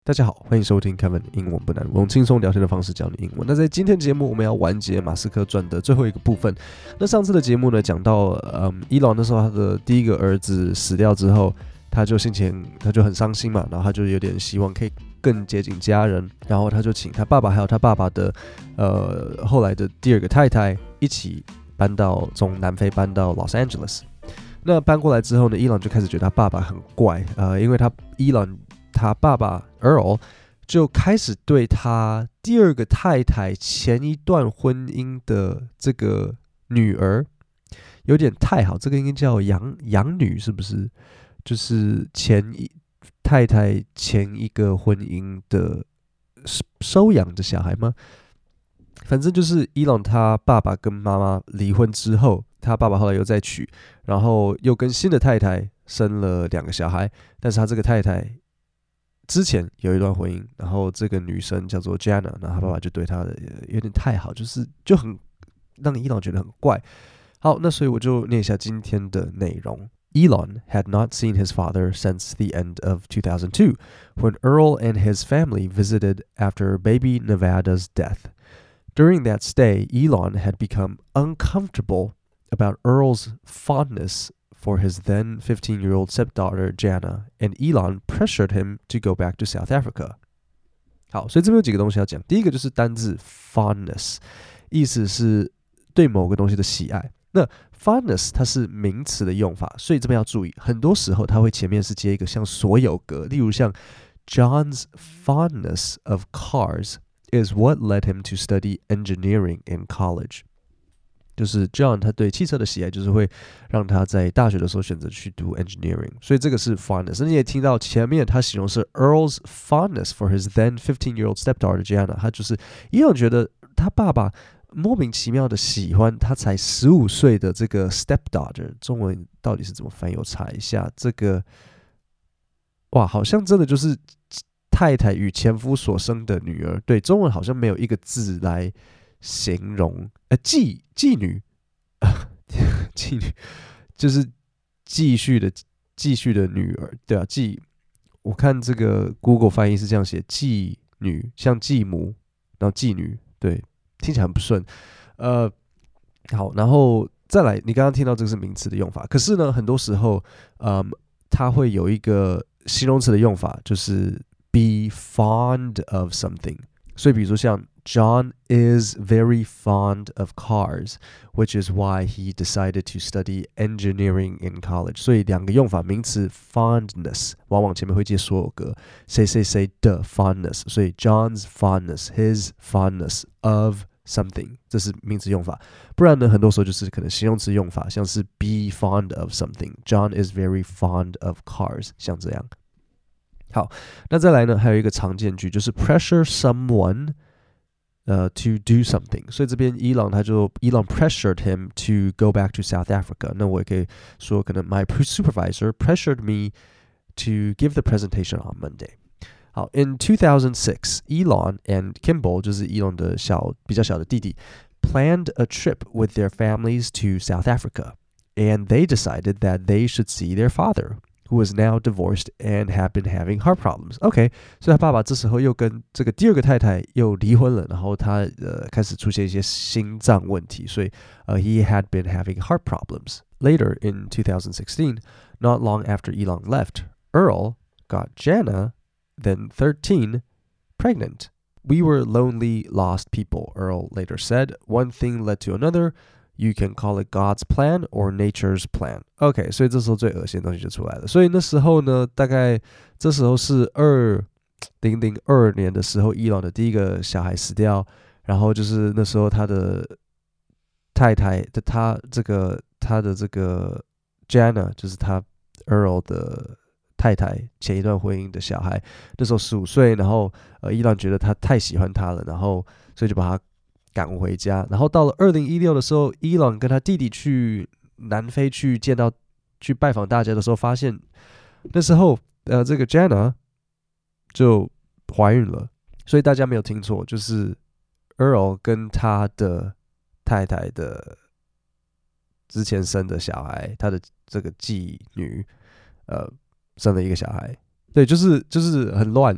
大家好，歡迎收聽 Kevin 英文不難，我用輕鬆聊天的方式教你英文。那在今天節目，我們要完結馬斯克傳的最後一個部分。那上次的節目呢，講到伊朗那時候他的第一個兒子死掉之後，他就很傷心嘛，然後他就有點希望可以更接近家人，然後他就請他爸爸還有他爸爸的後來的第二個太太一起從南非搬到 Los Angeles。那搬過來之後呢，伊朗就開始覺得他爸爸很怪，因為他爸爸 Earl 就開始對他第二個太太前一段婚姻的這個女兒有點太好，這個應該叫養女是不是？就是太太前一個婚姻的收養的小孩嗎？反正就是伊朗他爸爸跟媽媽離婚之後，他爸爸後來又再娶，然後又跟新的太太生了2個小孩，但是他這個太太之前有一段婚姻，然後這個女生叫做 Jana， 然後他爸爸就對她有點太好，就很讓伊朗覺得很怪。好，那所以我就念一下今天的內容。Elon had not seen his father since the end of 2002, when Earl and his family visited after baby Nevada's death. During that stay, Elon had become uncomfortable about Earl's fondness for his then 15-year-old stepdaughter Jana, and Elon pressured him to go back to South Africa. 好，所以這邊有幾個東西要講。第一個就是單字 fondness， 意思是對某個東西的喜愛。那 fondness 它是名詞的用法，所以這邊要注意，很多時候它會前面是接一個像所有格，例如像 John's fondness of cars is what led him to study engineering in college。就是 John 他對汽車的喜愛，就是會讓他在大學的時候選擇去讀 engineering， 所以這個是 fondness。你也聽到前面他形容是 Earl's fondness for his then 15-year-old stepdaughter Jana， 他就是伊朗覺得他爸爸莫名其妙的喜歡他才15歲的這個 stepdaughter， 中文到底是怎麼翻譯？我查一下，這個哇，好像真的就是太太與前夫所生的女兒。對，中文好像沒有一個字來形容，妓女，妓女就是繼續的女兒，對啊，我看這個 Google 翻譯是這樣寫，妓女像繼母，然後妓女，對，聽起來很不順，好，然後再來，你剛剛聽到這個是名詞的用法，可是呢，很多時候，它會有一個形容詞的用法，就是 be fond of something， 所以比如說像John is very fond of cars, which is why he decided to study engineering in college. 所以兩個用法，名詞 fondness 往往前面會接所有格，誰的 fondness， 所以 John's fondness, his fondness of something， 這是名詞用法。不然呢，很多時候就是可能形容詞用法，像是 be fond of something. John is very fond of cars， 像這樣。好，那再來呢，還有一個常見句，就是 pressure someone。To do something， 所以這邊伊朗pressured him to go back to South Africa。那我也可以說，可能 my supervisor pressured me to give the presentation on Monday。好 ，in 2006, Elon and Kimball 就是伊朗的比較小的弟弟 planned a trip with their families to South Africa, and they decided that they should see their father.Who was now divorced and had been having heart problems. OK， 所以他爸爸這時候又跟這個第二個太太又離婚了，然後他開始出現一些心臟問題，所以he had been having heart problems. Later in 2016, not long after Elon left, Earl got Jana, then 13, pregnant. We were lonely, lost people, Earl later said. One thing led to another.You can call it God's plan or nature's plan. OK， 所以這時候最惡心的東西就出來了。所以那時候呢，大概這時候是2002年的時候，伊朗的第一個小孩死掉，然後就是那時候他的太太的他的這個 Jana， 就是他 Earl 的太太前一段婚姻的小孩，那時候15歲，然後伊朗覺得他太喜歡他了，然後所以就把他趕回家，然後到了2016的時候，伊朗跟他弟弟去南非去拜訪大家的時候，發現那時候這個 Jana 就懷孕了，所以大家沒有聽錯，就是 Earl 跟他的太太的之前生的小孩，他的這個繼女生了一個小孩，對，就是很亂。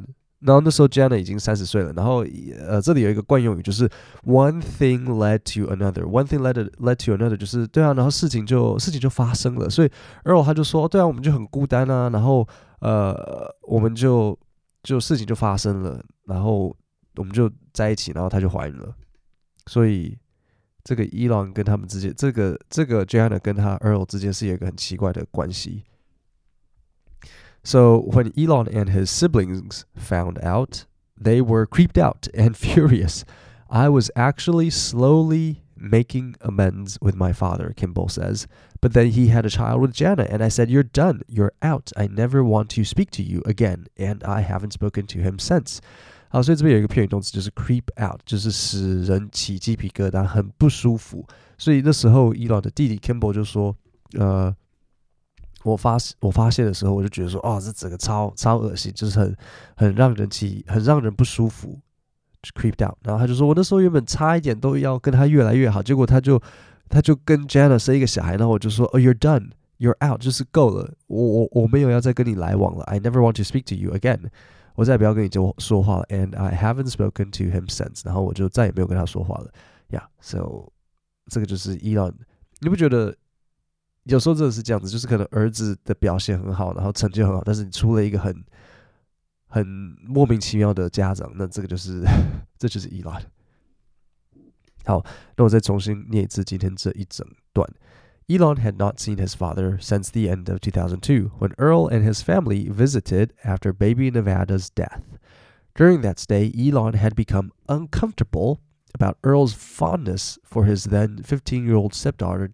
然後那時候 Jana 已經30歲了，然後這裡有一個慣用語，就是 one thing led to another，one thing led to another， 就是對啊，然後事情就發生了，所以 Earl 他就說，對啊，我們就很孤單啊，然後我們就事情就發生了，然後我们就在一起，然後他就懷孕了，所以這個 Elon 跟他們之間，這個 Jana 跟他 Earl 之間是有一個很奇怪的關係。So when Elon and his siblings found out, they were creeped out and furious. I was actually slowly making amends with my father, Kimball says. But then he had a child with Jana, and I said, "You're done. You're out. I never want to speak to you again." And I haven't spoken to him since. 好，所以這邊有一個片語動詞，就是 creep out， 就是使人起雞皮疙瘩，很不舒服。所以那時候 Elon 的弟弟 Kimball 就說，我發現的時候，我就覺得說，哦，這整個超惡心，就是很讓人不舒服 ，creeped out。然後他就說，我那時候原本差一點都要跟他越來越好，結果他就跟 Jana 生一個小孩，然後我就說，哦 ，you're done, you're out， 就是夠了，我沒有要再跟你來往了 ，I never want to speak to you again， 我再也不要跟你說話了 ，and I haven't spoken to him since， 然後我就再也沒有跟他說話了 ，yeah，so 這個就是 Elon， 你不覺得？有時候真的是這樣子，就是可能兒子的表現很好，然後成績很好，但是你出了一個很莫名其妙的家長，那這個就是這就是 Elon。好，那我再重新念一次今天這一整段。Elon had not seen his father since the end of 2002, when Earl and his family visited after baby Nevada's death. During that stay, Elon had become uncomfortable about Earl's fondness for his then 15-year-old stepdaughter,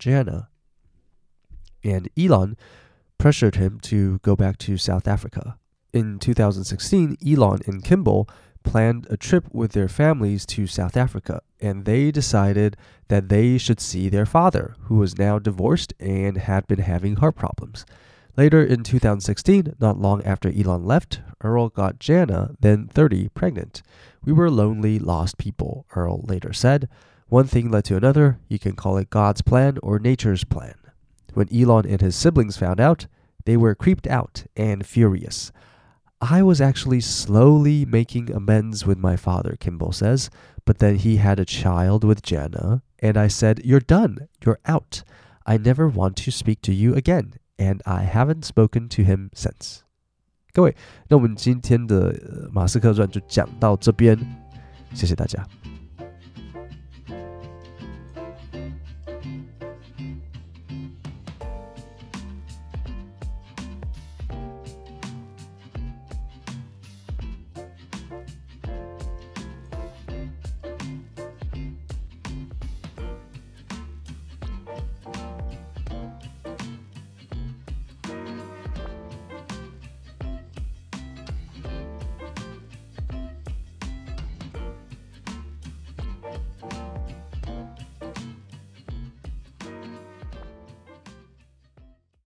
Jana.And Elon pressured him to go back to South Africa. In 2016, Elon and Kimball planned a trip with their families to South Africa, and they decided that they should see their father, who was now divorced and had been having heart problems. Later in 2016, not long after Elon left, Earl got Jana, then 30, pregnant. We were lonely, lost people, Earl later said. One thing led to another. You can call it God's plan or nature's plan.When Elon and his siblings found out, they were creeped out and furious. I was actually slowly making amends with my father, Kimball says, but then he had a child with Jana, and I said, "You're done. You're out. I never want to speak to you again, and I haven't spoken to him since." 各位，那我們今天的馬斯克傳就講到這邊，謝謝大家。